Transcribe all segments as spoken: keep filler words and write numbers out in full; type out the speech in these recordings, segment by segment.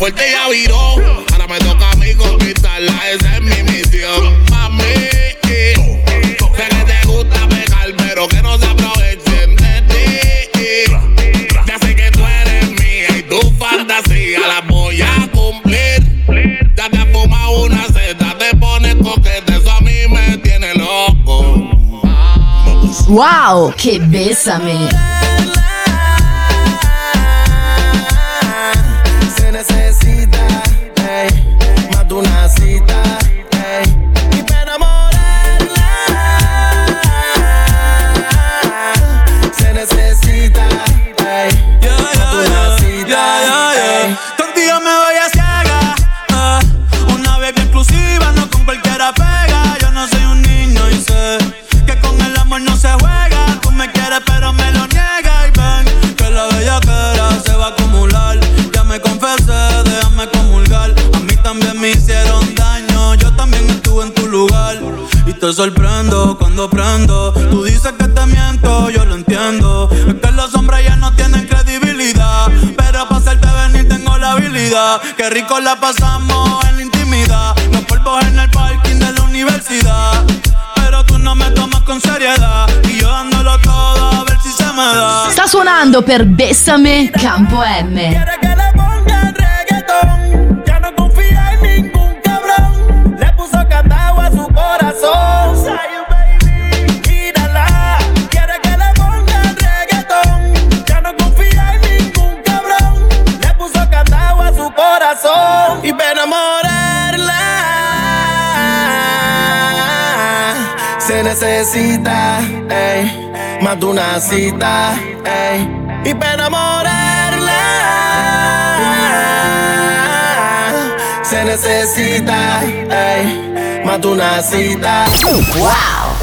fuerte ya viró. Ahora me toca a mí conquistarla, esa es mi misión. Mami, sé que te gusta pegar, pero que no se aprovechen de ti. Ya sé que tú eres mía y tu fantasía la voy a cumplir. Ya te has fumado una seta, te pones coquete, eso a mí me tiene loco. Wow, che bésame. Se necesita, ey, más de una cita, ey, y para enamorarla se necesita, ey, yeah, más de una cita, yeah, yeah, yeah. ey. Contigo me voy a ciega, uh, una baby exclusiva, no con cualquiera pega. Yo no soy un niño y sé que con el amor no se juega. Tú me quieres pero me lo niegas y ven que la bellaquera se va a acumular. Ya me confesé, déjame comulgar. A mí también me hicieron daño, yo también estuve en tu lugar. Y te sorprendo cuando prendo. Tú dices que te miento, yo lo entiendo. Es que los hombres ya no tienen credibilidad, pero para hacerte venir tengo la habilidad. Qué rico la pasamos en la intimidad, los polvos en el parking de la universidad. Pero tú no me tomas con seriedad y yo dándolo todo a ver si se me da. Sta suonando per Bésame Campo M. Quiere que le ponga reggaetón, ya no confía en ningún cabrón. Le puso candado a su corazón. Say baby, mírala. Quiere que le ponga reggaetón, ya no confía en ningún cabrón. Le puso candado a su corazón y para enamorarla se necesita, ey, más de una cita, ey, y para enamorarla se necesita, ey, más de una cita. Wow.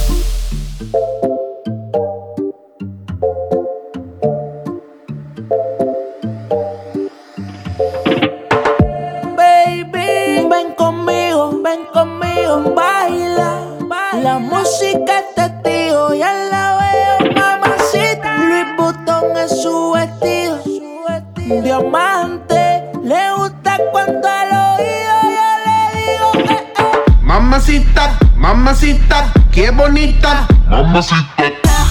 Baby, ven conmigo, ven conmigo, baila. La música es testigo, ya la veo, mamacita. Louis Vuitton es su vestido, diamante. Le gusta cuando al oído yo le digo eh, eh. Mamacita, mamacita, qué bonita. Mamacita.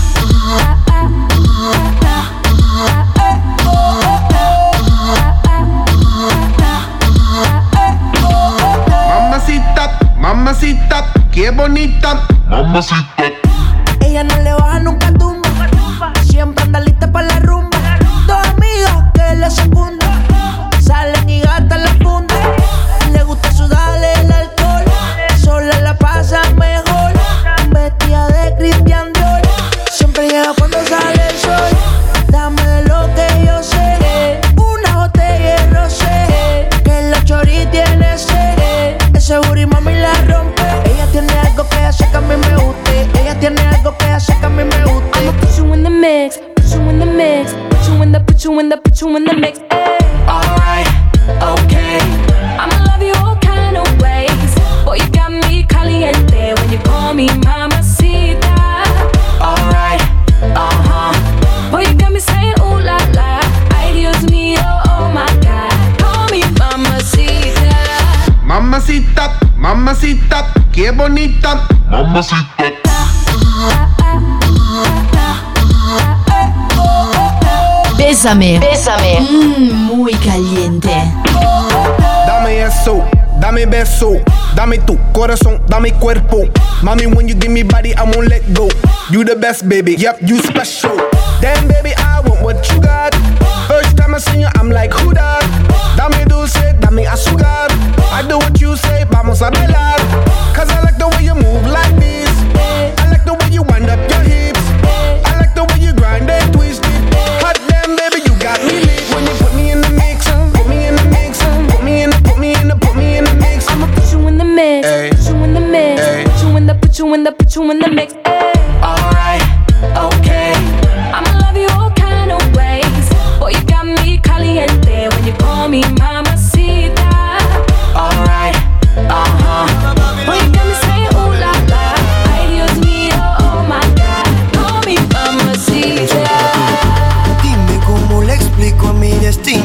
Mamacita, mamacita, qué bonita. Mamacita. Ella no le baja nunca tumba, siempre anda lista para la rumba. Dos amigas que le secundan, salen y gastan la funda. Le gusta sudarle el alcohol, sola la pasa mejor. Vestida de Christian Dior, siempre llega cuando sale el sol. Dame de lo que yo sé, una botella de rosé, que la chori tiene sed. Ese booty mami la rompe. Ella tiene algo que hace que a mí me guste. Ella tiene algo que hace que a mí me guste. I'ma put you in the mix, put you in the mix, put you in the, put you in the, put you in the mix. Ay. Alright, okay. I'ma love you all kind of ways. Boy, you got me caliente when you call me mamacita. Alright, uh-huh. Boy, you got me saying ooh la la. Ay, Dios mío, oh my God. Call me mamacita. Mamacita, mamacita, qué bonita. Mamacita. Bésame. Bésame. Mmm, muy caliente. Dame eso, dame beso, dame tu corazón, dame cuerpo. Mommy, when you give me body, I won't let go. You the best, baby, yep, you special. Damn, baby, I want what you got. First time I seen you, I'm like, who that? Dame dulce, dame azúcar. I do what you say, vamos a bailar. Cause I like the way you move like this. I like the way you wind up your hips. I like the way you grind and twist it. Hot damn, baby, you got me lit. When you put me in the mix, put me in the mix, put me in the, put me in the, put me in the mix. I'ma put you in the mix, Ay. put you in the mix, Ay. put you in the, put you in the, put you in the mix. Ay. Alright, okay. I'ma love you all kind of ways. Boy, you got me caliente when you call me mamacita. Alright, uh-huh. Boy, you got me saying ooh la la. Ay, Dios mío, oh my God. Call me mamacita. Dime cómo le explico a mi destino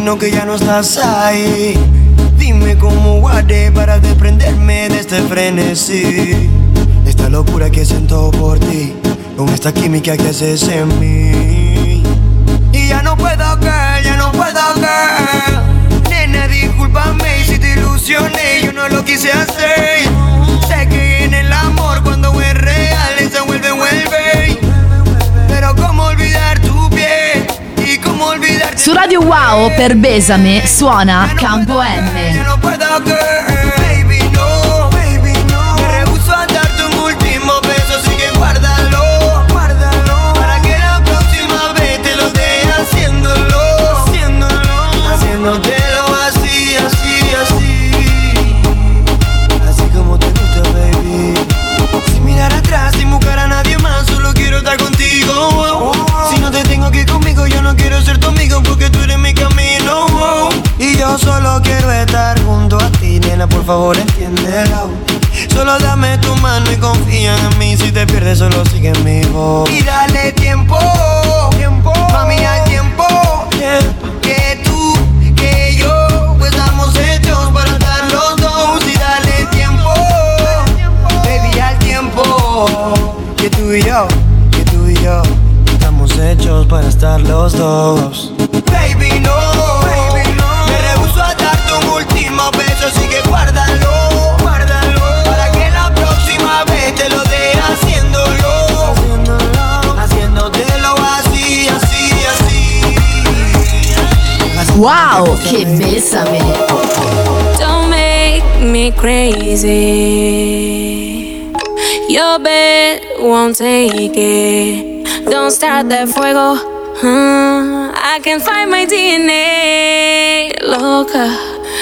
bueno que ya no estás ahí. Dime cómo guardé para desprenderme de este frenesí, esta locura que siento por ti, con esta química que haces en mí. Y ya no puedo, girl, ya no puedo, girl. Nena, discúlpame si te ilusioné, yo no lo quise hacer. Sé que en el amor cuando es real se vuelve, vuelve. Pero cómo olvidar tu piel y cómo olvidar. Su Radio Wow per Besame suona Campo M. Ya no puedo, girl, baby, no, baby, no. Me rehuso a darte un último beso, así que guárdalo, guárdalo, para que la próxima vez te lo dé haciéndolo, haciéndolo, haciéndotelo así, así, así, así como te gusta, baby. Sin mirar atrás, sin buscar a nadie más, solo quiero estar contigo. Si no te tengo que ir conmigo, yo no quiero ser tu amigo, porque tú eres mi camino. Y yo solo quiero estar junto a ti, nena, por favor entiéndelo. Solo dame tu mano y confía en mí, si te pierdes solo sigue mi voz. Y dale tiempo, tiempo, mami, hay tiempo, que tú, que yo, pues estamos hechos para estar los dos. Y dale tiempo, baby, al tiempo, que tú y yo, que tú y yo, estamos hechos para estar los dos. Baby, no, baby, no. Me rehuso a darte un último beso, así que guárdalo, guárdalo, para que la próxima vez te lo dé haciéndolo, haciéndolo, haciéndotelo así, así, así, así. Wow, che Besame. Don't make me crazy. Your bed won't take it. Don't start that fuego. Uh, I can find my D N A, loca.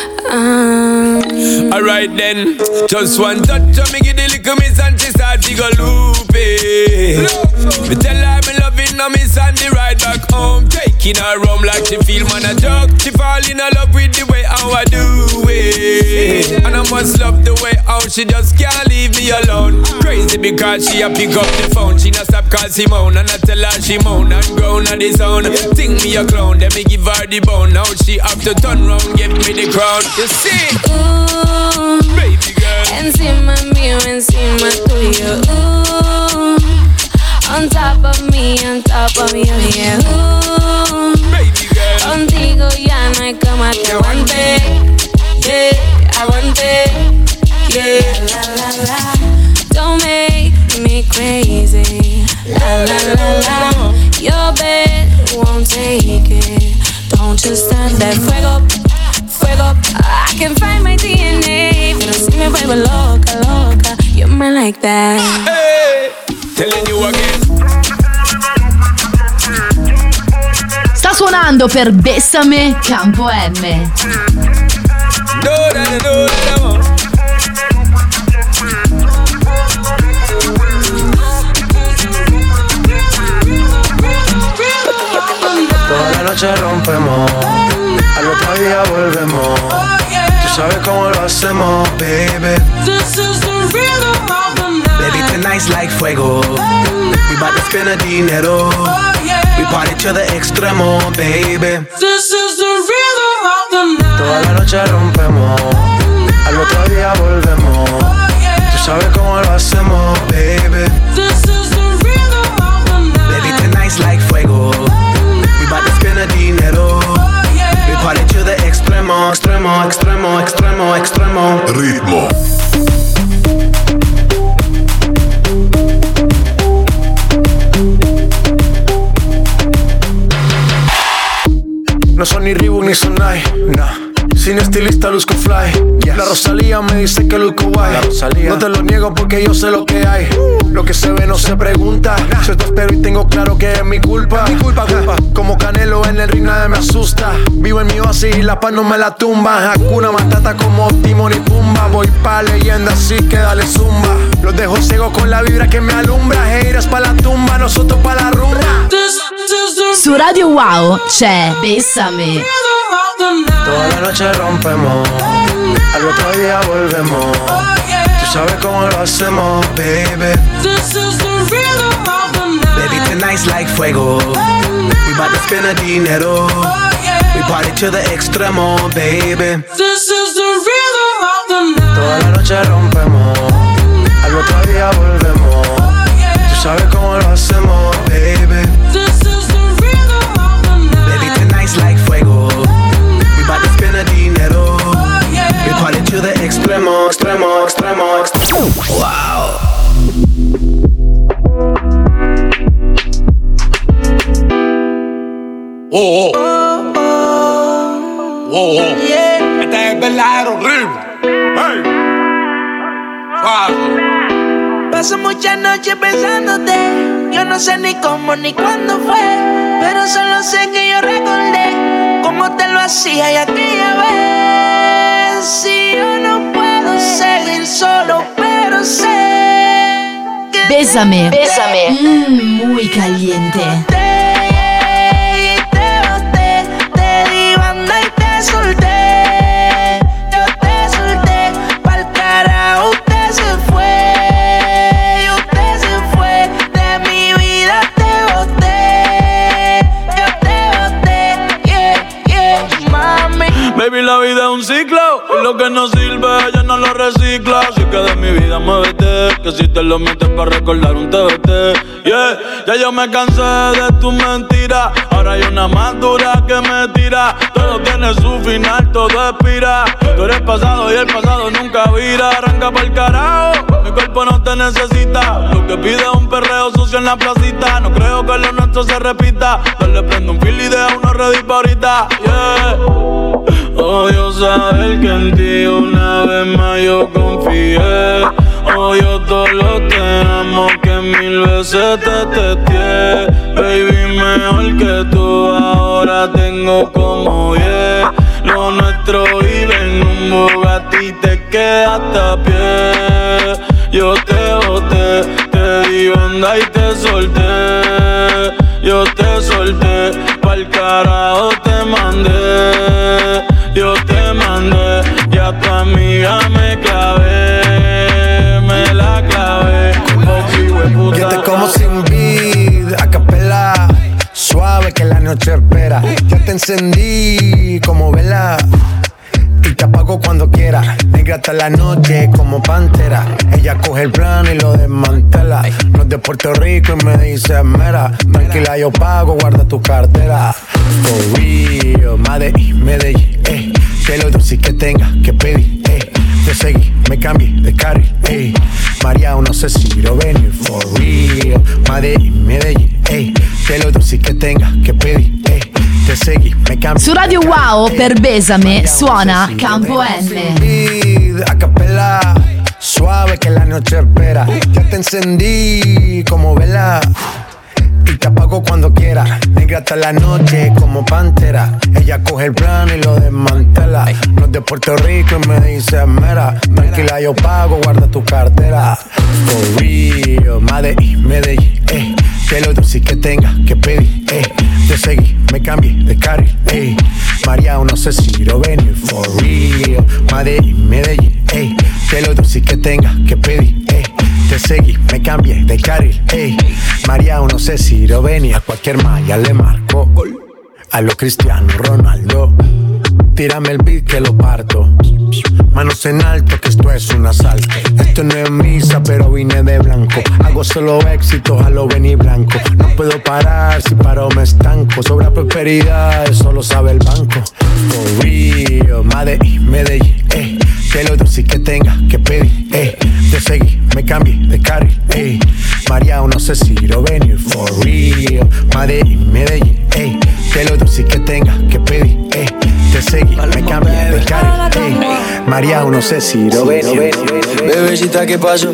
Um. Alright then, just one touch of me, give the little miss and she start to go loopy. Me tell her me loving her, miss and the ride back home, taking her home like she feel man a joke. She fall in love with the way how I do it, and I must love the way how she just can't leave me alone. Crazy because she a pick up the phone, she not stop call Simone, and I tell her she moan and groan on the zone. Think me a clown, then me give her the bone. Now she have to turn round, give me the crown. You see, Ooh, baby girl, encima mío, encima tuyo. Ooh, on top of me, on top of you, yeah. Ooh, baby girl, contigo ya no hay cama, te aguante, yeah, aguante, yeah. La la la, don't make me crazy. La la la la, your bed won't take it. Don't just start that fuego, fuego. I can find my D N A. Pero si me vuelvo loca, loca, you're mine like that. hey, telling you again. Sta suonando per Besame Campo M. Do da da do da da. Toda la noche rompemos, al otro día volvemos. Tú sabes cómo lo hacemos, baby. This is the rhythm of the night. Baby, tonight's like fuego. We bout to spend the dinero. We party to the extremo, baby. This is the rhythm of the night. Toda la noche rompemos, al otro día volvemos. Tú sabes cómo lo hacemos, baby. This is the rhythm of the night. Baby, tonight's like fuego. We bout to spend the dinero. We party to the extremo, extremo, extremo, extremo, extremo. Ritmo. No son ni Reebok ni Sonai, nah. Sin estilista luzco fly, yes. La Rosalía me dice que luzco guay. No te lo niego porque yo sé lo que hay. Lo que se ve no se pregunta, nah. Yo te espero y tengo claro que es mi culpa, mi culpa, culpa. Como Canelo en el ring nadie me asusta. Vivo en mi oasis y la paz no me la tumba. Hakuna Matata como Timon y Pumba. Voy pa' leyenda así que dale zumba. Los dejo ciegos con la vibra que me alumbra. Haters pa' la tumba, nosotros pa' la rumba. Su Radio Wow c'è Besame. Toda la noche rompemos, al otro día volvemos. Tú sabes cómo lo hacemos, baby. This is the rhythm of the night. Baby, tonight's like fuego. We bout to spend the dinero. We party to the extremo, baby. This is the rhythm of the night. Toda la noche rompemos, al otro día volvemos. Tú sabes cómo lo hacemos, baby. This is the rhythm of the night. Baby, tonight's like fuego. We bout to spend the dinero. We party to the extremo, extremo, extremo, extremo. Wow. Oh, oh. Oh, oh. Yeah. Este es el verdadero ritmo. Hey. Suave. Paso muchas noches pensándote. Yo no sé ni cómo ni cuándo fue, pero solo sé que yo recordé cómo te lo hacía y aquella vez. Si yo no puedo seguir solo, pero sé que Bésame, bésame, mm, muy caliente. Solté, yo te solté, pa'l carajo usted se fue, y usted se fue, de mi vida te boté, yo te boté, yeah, yeah, mami. Baby, la vida es un ciclo, y lo que no sirve ya no lo recicla. Así que de mi vida muévete, que si te lo metes para recordar un T B T. Yeah, ya yo me cansé de tus mentiras, ahora hay una más dura que me tira. Todo tiene su final, todo expira. Tú eres pasado y el pasado nunca vira. Arranca pa'l carajo, mi cuerpo no te necesita. Lo que pide es un perreo sucio en la placita. No creo que lo nuestro se repita. Dale, prendo un fil y deja uno ready pa' ahorita. Yeah. Odio saber que en ti una vez más yo confié. Odio todo lo te amo que mil veces te testé. Baby, mejor que tú ahora tengo como diez. Lo nuestro vive en un Bugatti, te quedaste a pie. Yo te boté, te di onda y te solté. Yo te solté, pa'l carajo te mandé. Yo te mandé, ya tu amiga me clavé, me la clavé. Yo te como sin vid, a capela, suave que la noche espera. Ya te encendí como vela y te apago cuando quiera. Negra hasta la noche como pantera. Ella coge el plano y lo desmantela. No es de Puerto Rico y me dice mera. Tranquila, yo pago, guarda tu cartera. For real, Medellín, Medellín, eh. Que lo dulce que tenga que pedir, eh. Te seguí, me cambié de carril, eh. María, no sé si lo venir. For real, Medellín, Medellín, eh. Que lo dulce que tenga que pedir, eh. Te seguí, me cambié. Su Radio Wow per Besame suona Campo N. A capela, suave que la noche espera. Ya te encendí como vela y te apago cuando quiera. Negra hasta la noche como pantera. Ella coge el plano y lo desmantela. No es de Puerto Rico y me dice mera. Tranquila, yo pago, guarda tu cartera. For real, Medellín, Medellín, eh. Que lo dulce que tenga que pedir, eh. Te seguí, me cambié de carril, eh. María, no sé si lo venir. For real, Medellín, Medellín, eh. Que lo dulce que tenga que pedir, eh. Te seguí, me cambié de carril, ey. María, no sé si lo venía. A cualquier malla le marco. A lo Cristiano Ronaldo. Tírame el beat que lo parto. Manos en alto que esto es un asalto. Esto no es misa pero vine de blanco. Hago solo éxito a lo venir blanco. No puedo parar, si paro me estanco. Sobra prosperidad, eso lo sabe el banco. For real, Medellín, Medellín, eh. Que lo dulce que tenga que pedir, eh. Te seguí, me cambié de carril, eh. María, no sé si lo venir. For real, Medellín, Medellín, eh. Que lo dulce que tenga que pedir, eh. Te seguí, me cambié de carril, eh. María, no sé si lo venir. Bebecita, ¿qué pasó?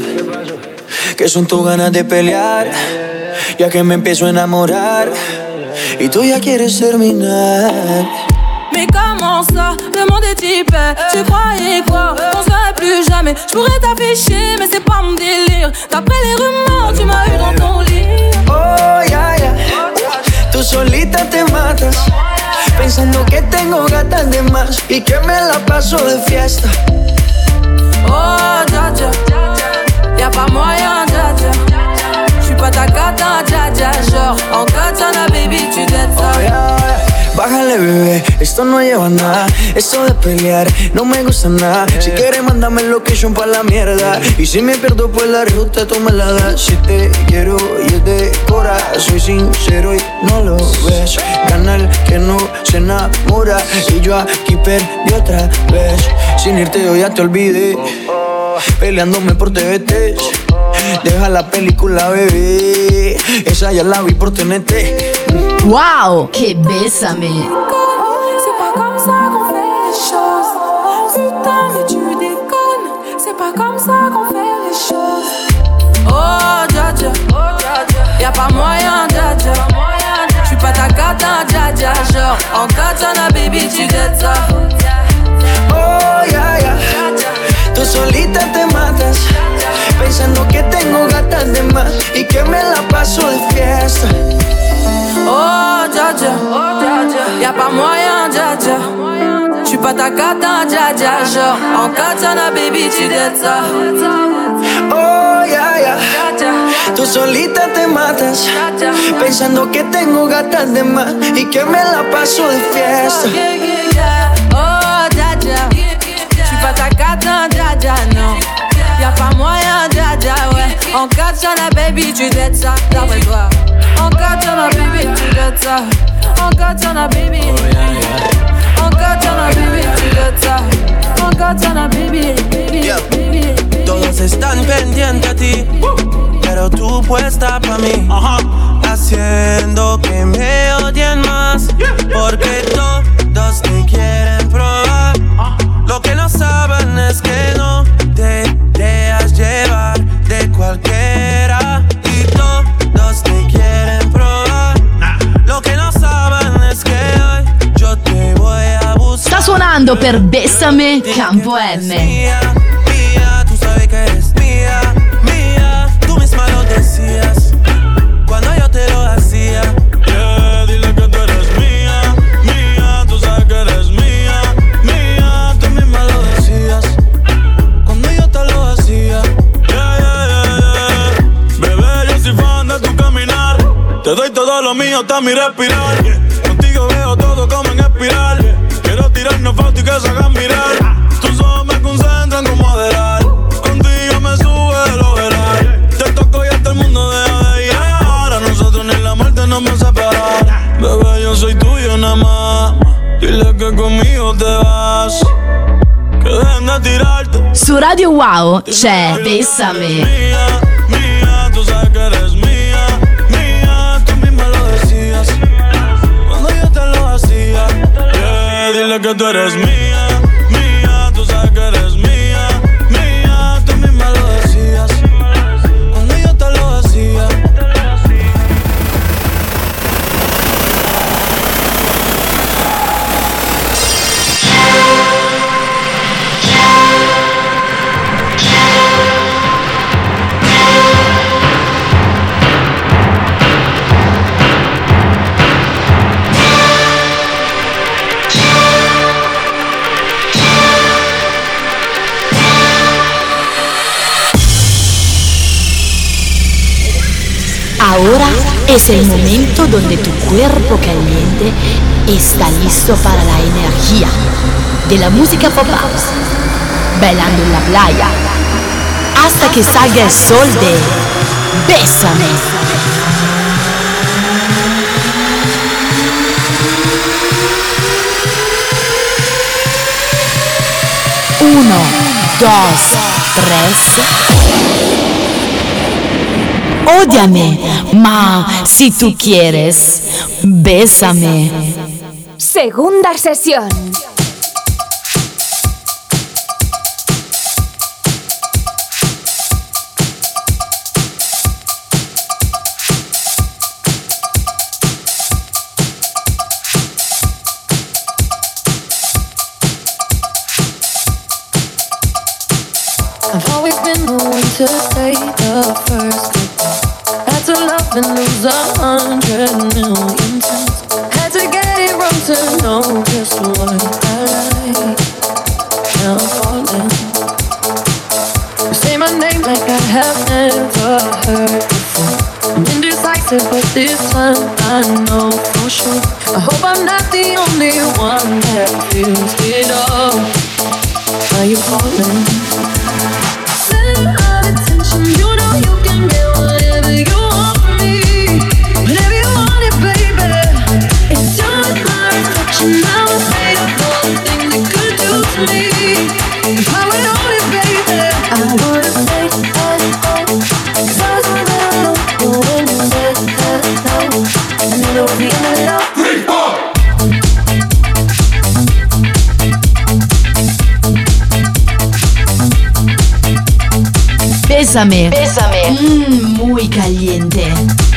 Que son tus ganas de pelear, ya que me empiezo a enamorar y tú ya quieres terminar. Mais comment ça, le monde est hyper. Tu croyais quoi, on serait plus jamais. Je pourrais t'afficher, mais c'est pas mon délire. D'après les rumeurs, tu m'as eu dans ton lit. Oh, ya, ya, tú solita te matas, pensando que tengo gatas de más y que me la paso de fiesta. Oh, dja dja, y'a pas moyen, dja dja. J'suis pas ta gata, dja dja. Genre, en katana, baby, tu dettes ça. Oh, yeah, yeah. Bájale, bebé, esto no lleva a nada. Eso de pelear no me gusta nada. Si quieres mándame el location pa' la mierda. Y si me pierdo pues la ruta tú me la das. Si te quiero y es de cora, soy sincero y no lo ves. Gana el que no se enamora. Y yo aquí perdí otra vez. Sin irte yo ya te olvidé, peleándome por T V T. Deja la película, bebé, esa ya la vi por T N T. Wow, que bésame. C'est pas comme ça qu'on fait les choses. Putain, mais tu déconnes. C'est pas comme ça qu'on fait les choses. Oh, dja dja, y'a pas moyen, dja dja. J'suis pas ta cata, dja dja. Genre, en katana, baby, tu get ça. Oh, yeah, yeah. Tú solita te matas, pensando que tengo gatas de más y que me la paso de fiesta. Oh, dja dja, y'a pas moyen, dja dja. J'suis pas ta cata, dja dja. Genre, en katana, baby, tu get ça. Oh, yeah, yeah. Tú solita te matas, pensando que tengo gatas de más y que me la paso de fiesta. Oh, dja dja, j'suis pas ta cata, dja dja, non. Y'a pas moyen, dja dja, ouais. En katana, baby, tu get ça, d'après toi. En katana, baby, tu get ça. En katana, baby. En katana, baby, tu get ça. En katana, baby, baby, baby. Todos están pendientes a ti, pero tú puesta pa' mí, haciendo que me odien más, porque todos te quieren probar. Lo que no saben es que no te dejas llevar de cualquiera, y todos te quieren probar. Lo que no saben es que hoy yo te voy a buscar. Sta suonando per Bessame Campo M. Mía, mía, tú sabes que eres mía, mía, tú misma lo decías cuando yo te lo hacía. Yeah, dile que tú eres mía, mía, tú sabes que eres mía, mía, tú misma lo decías cuando yo te lo hacía. Yeah, yeah, yeah, yeah. Bebé, yo soy fan de tu caminar, te doy todo lo mío hasta mi respirar. Contigo veo todo como en espiral. Quiero tirarnos fotos y que se hagan mirar. Tus ojos me concentran como adelar. Contigo me sube el overall. Te toco y hasta el mundo deja de llegar. A nosotros ni la muerte nos va a separar. Bebé, yo soy tuyo nada más. Dile que conmigo te vas. Que dejen de tirarte. Su Radio Wow c'è Bessame. Mía, mía, tú sabes que eres mía, mía, tú misma lo decías cuando yo te lo hacía. Yeah, dile que tú eres mía, mía, tú sabes que eres mía, mía, tú misma lo decías cuando yo te lo hacía. Ahora es el momento donde tu cuerpo caliente está listo para la energía de la música pop house, bailando en la playa, hasta que salga el sol de Bésame. Uno, dos, tres. Ódiame, ma si tú quieres, bésame. Segunda sesión. I've always been the one to say the first goodbye. Had to love and lose a hundred million times. Had to get it wrong to know just what I like. Now I'm falling. You say my name like I have never heard before. Indecisive, but this time I know for sure. I hope I'm not the only one that feels it all. Are you falling? Center of attention, you know you can get whatever you want from me. Whenever you want it, baby. It's just my reflection. I was made of all the things it could do to me. If I went on it, baby, I would've stayed at home. 'Cause I was on that alone. But when you said hello, I knew there was the end of it all. Three, four. Bésame. Bésame. Mmm, muy caliente.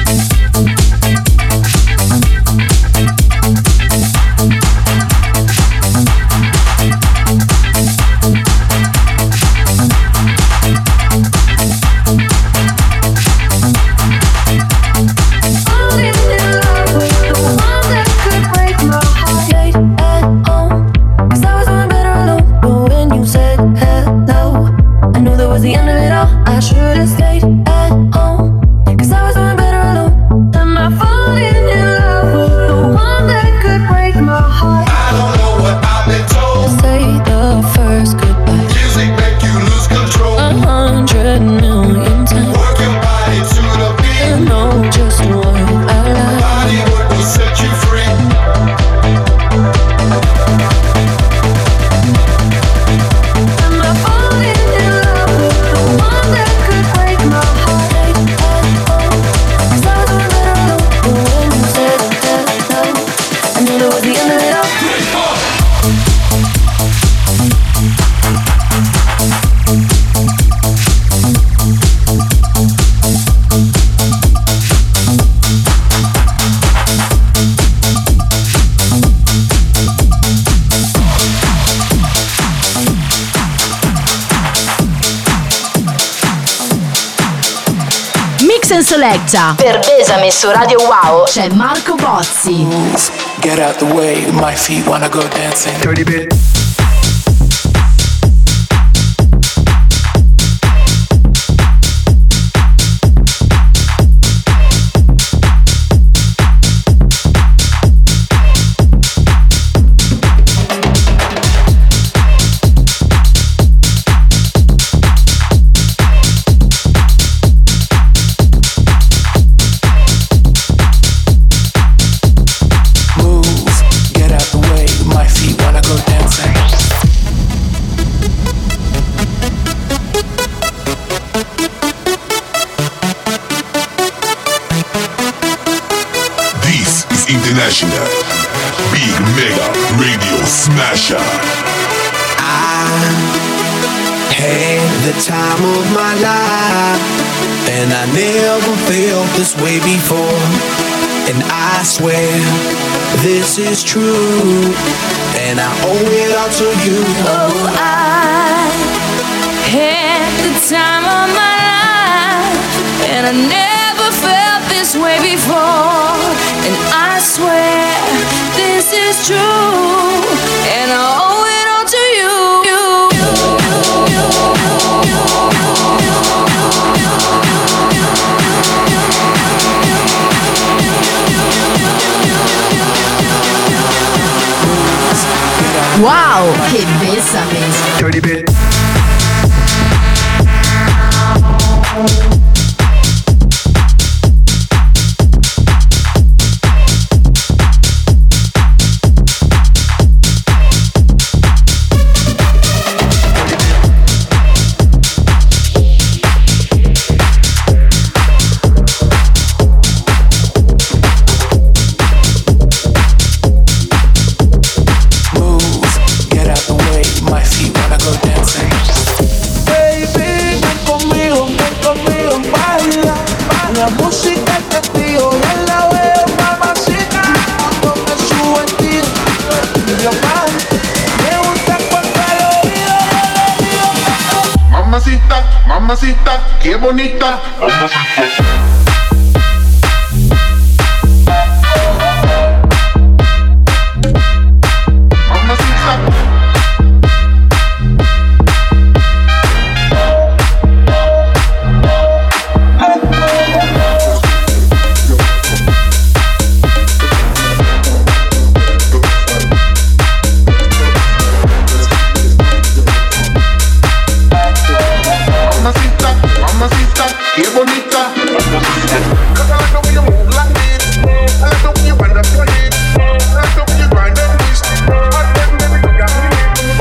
Selecta. Per Besame su Radio Wow c'è Marco Bozzi. Get out the way, my feet wanna go dancing. Dirty bit. International Big Mega Radio Smasher. I had the time of my life, and I never felt this way before. And I swear this is true, and I owe it all to you. Oh, I had the time of my life, and I never felt this way before. And I swear this is true, and I owe it all to you. Wow, che bésame. Dirty bit. Mamacita, qué bonita. Mamacita. qué bonita. Cause I like the way you move like this. I like the way you wind up your hips. I like the way you grind and twist. Hot damn, baby, you got me.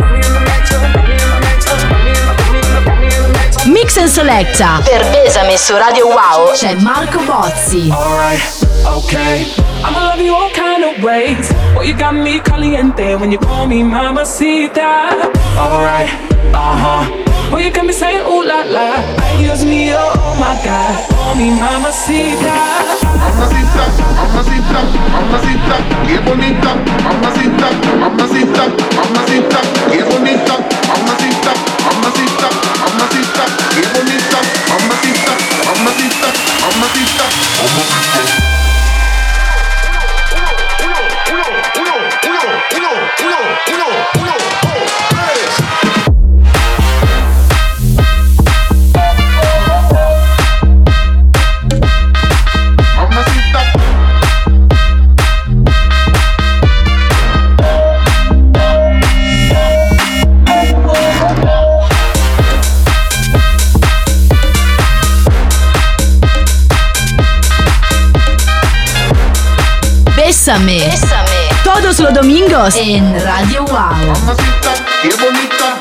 Mix and Selecta per Besame su Radio Wow c'è Marco Bozzi. Alright, okay, I'ma love you all kind of ways. Oh, you got me caliente when you call me mamacita. Alright, uh-huh. Oh, you got me saying ooh la la. Excuse me, oh my God. Call me mamacita. Mamacita, mamacita, mamacita, qué bonita. Mamacita, mamacita, mamacita, qué bonita. Mamacita, mamacita, mamacita, qué bonita. Mamacita, mamacita, mamacita, mamacita. Uno, uno, uno, uno, uno, uno, uno, dos, tres. Bésame. Bésame. Todos los domingos en Radio Wow. Mamacita, qué bonita.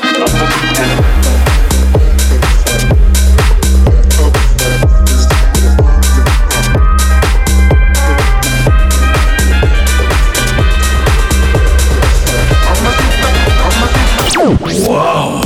Wow.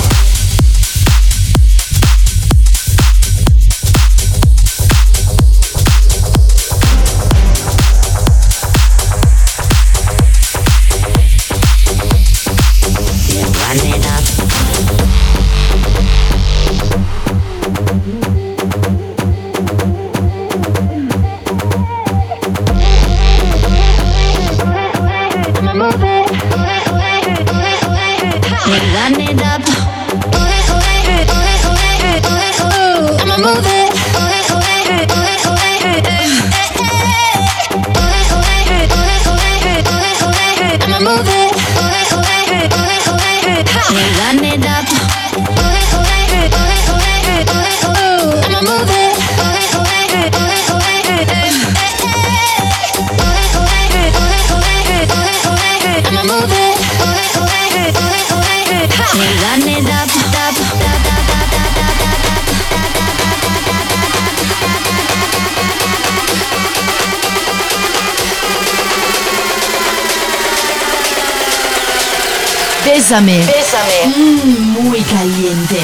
Bésame. Bésame. Mm, muy caliente.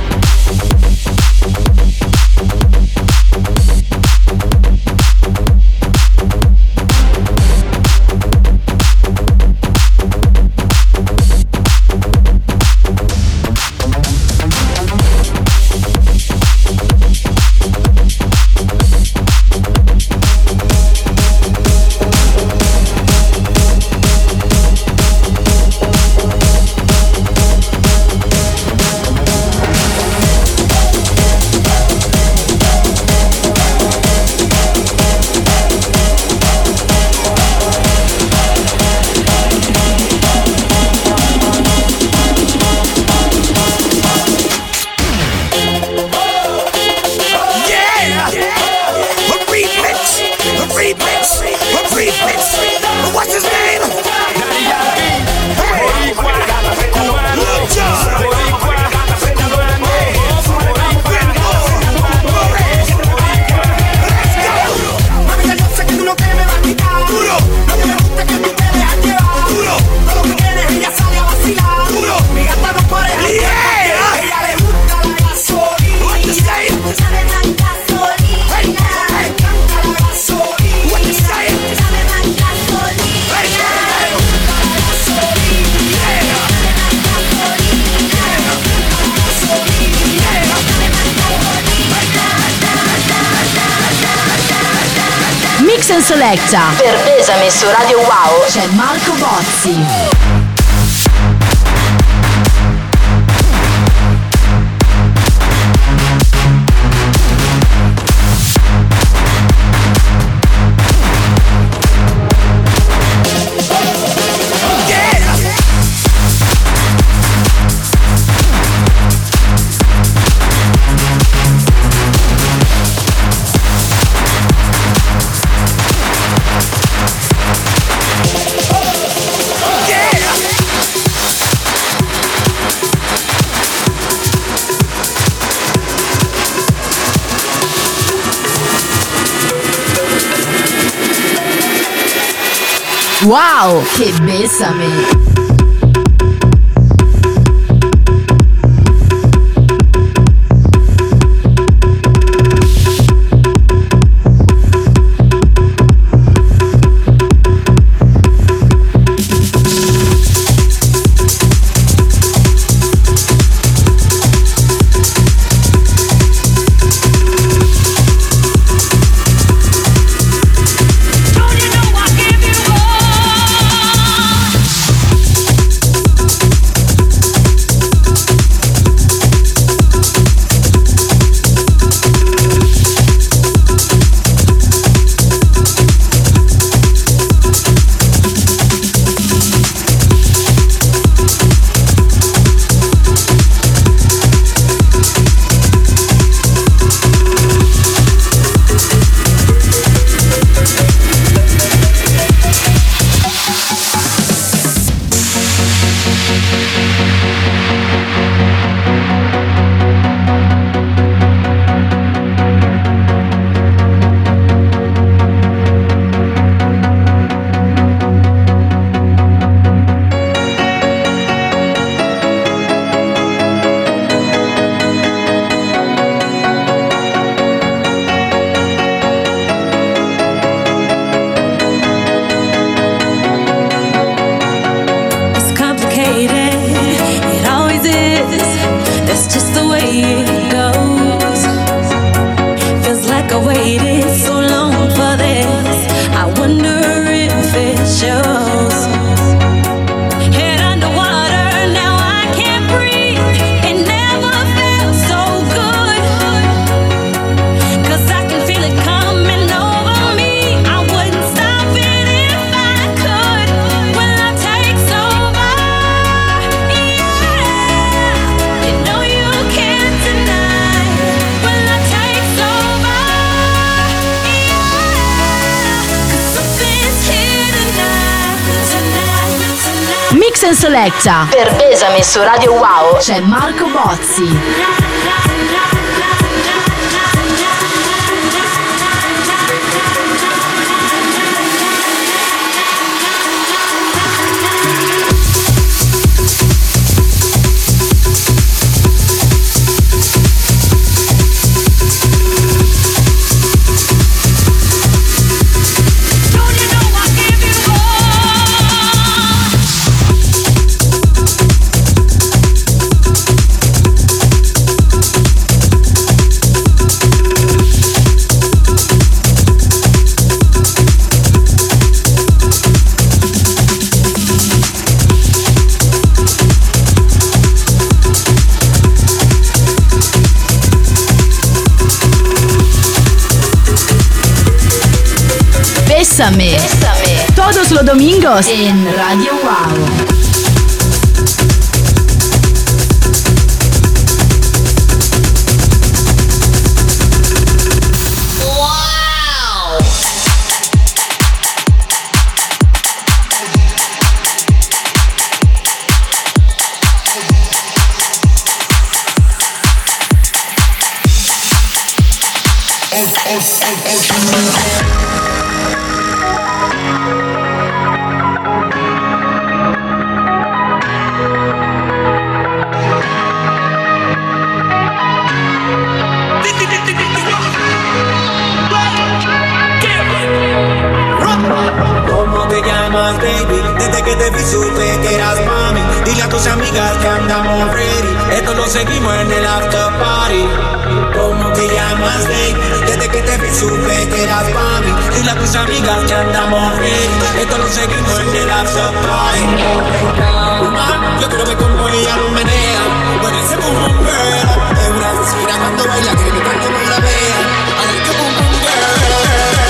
Mix and Selecta per Besame su Radio Wow c'è Marco Bozzi. Wow, che bésame. Selecta. Per Besame su Radio Wow c'è Marco Bozzi. Bésame. Bésame. Todos los domingos en Radio Wow. Baby, desde que te vi supe que eras mami. Dile a tus amigas que andamos ready. Esto lo seguimos en el after party. ¿Cómo te llamas, baby? Desde que te vi supe que eras mami. Dile a tus amigas que andamos ready. Esto lo seguimos en el after party. Uh, yo quiero ver cómo ella lo menea. Bueno, ese boom boom girl es una vecina cuando baila que mi cuerpo no la vea. I like the boom boom girl.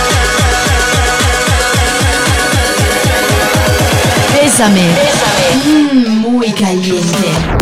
Bésame. Bésame. Mm, muy caliente.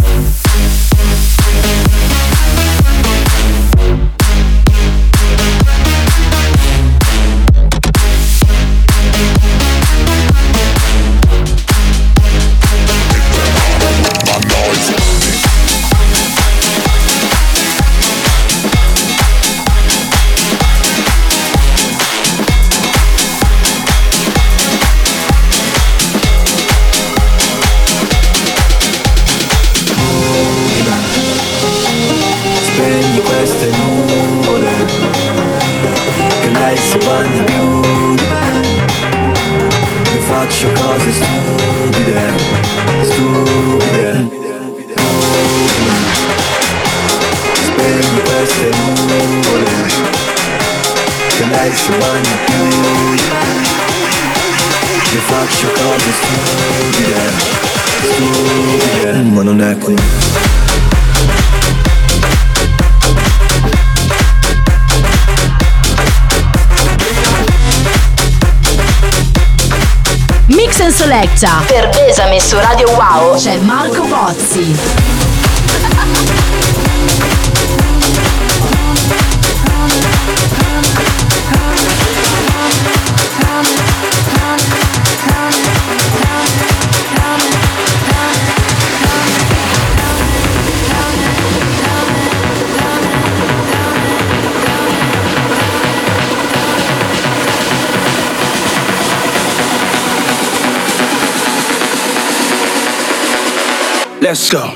lei si bagna più di me. Io faccio cose stupide, stupide. Spegno queste nuvole, che lei si bagna più di me. Io faccio cose stupide, stupide. Ma non è qui. Mix and Selecta per Besame su Radio Wow c'è Marco Bozzi. Let's go.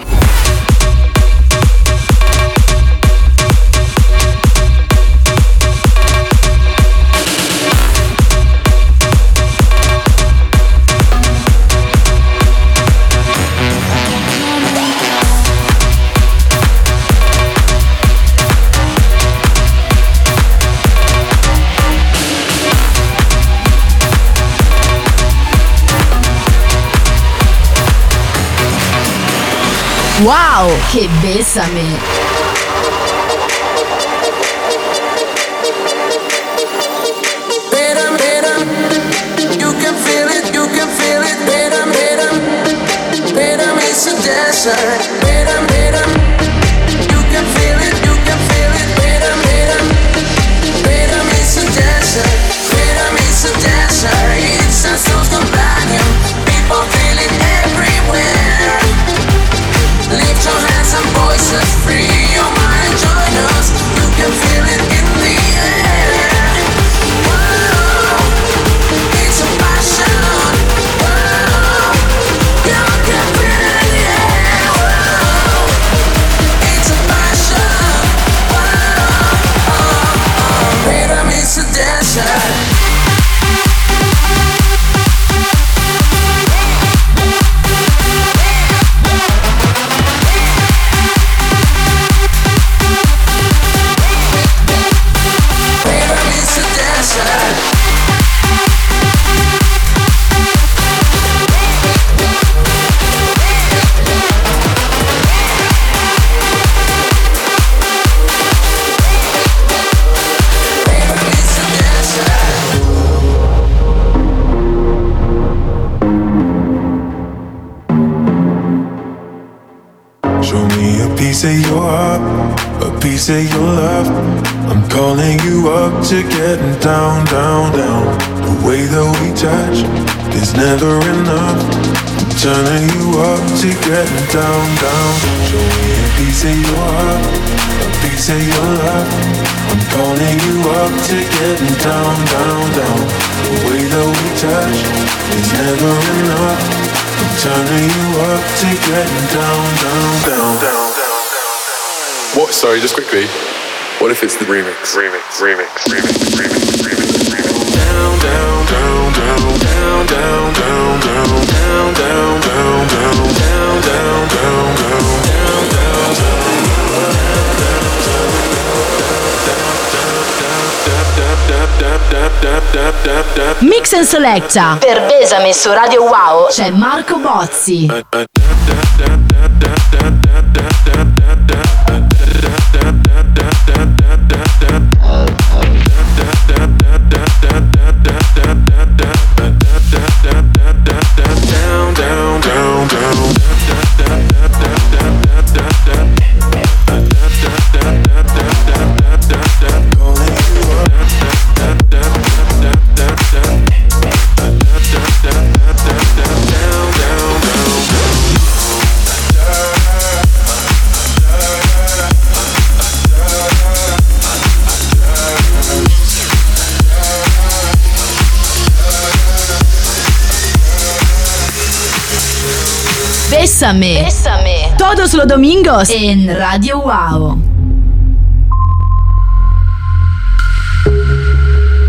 Wow, che besame! piece of your heart, a piece of your love. I'm calling you up to getting down, down, down. The way that we touch is never enough. I'm turning you up to getting down, down. Show me a piece of your heart, a piece of your love. I'm calling you up to getting down, down, down. The way that we touch is never enough. I'm turning you up to getting down, down, down, down, down. What? Sorry, just quickly. What if it's the remix? Remix, remix, remix, remix, remix, remix. Down, down, down, down, down, down, down, down, down, down, down, down, down, down, down, down. Mix and Selecta per Besame su Radio Wow c'è Marco Bozzi. Bésame. Bésame. Todos los domingos en Radio Wow.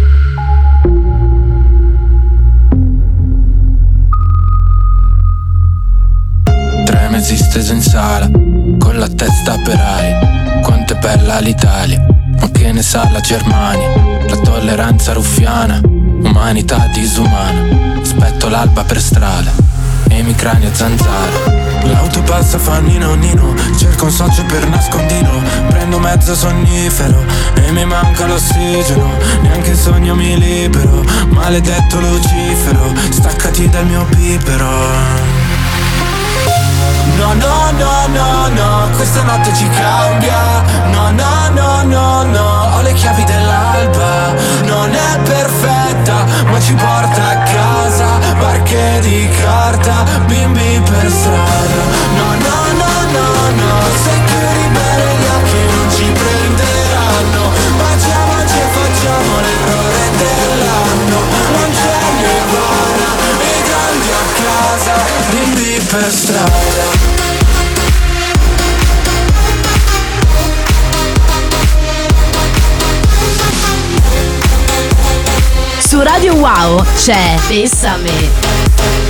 sala, con la testa per aria. Quanto è bella l'Italia, ma che ne sa la Germania? La tolleranza ruffiana, umanità disumana. Aspetto l'alba per strada e i miei crani a zanzara. L'auto passa fa nino nino, cerco un socio per nascondino. Prendo mezzo sonnifero e mi manca l'ossigeno. Neanche il sogno mi libero, maledetto Lucifero, staccati dal mio bibero. No, no, no, no, no, questa notte ci cambia. No, no, no, no, no, ho le chiavi dell'alba. Non è perfetta, ma ci porta a casa. Barche di carta, bimbi per strada. No, no, no, no, no, se chiudi bene gli occhi non ci prenderanno. Baciamoci e facciamo l'errore dell'anno. Non c'è nirvana, i grandi a casa, bimbi per strada. Su Radio Wow c'è Bessame.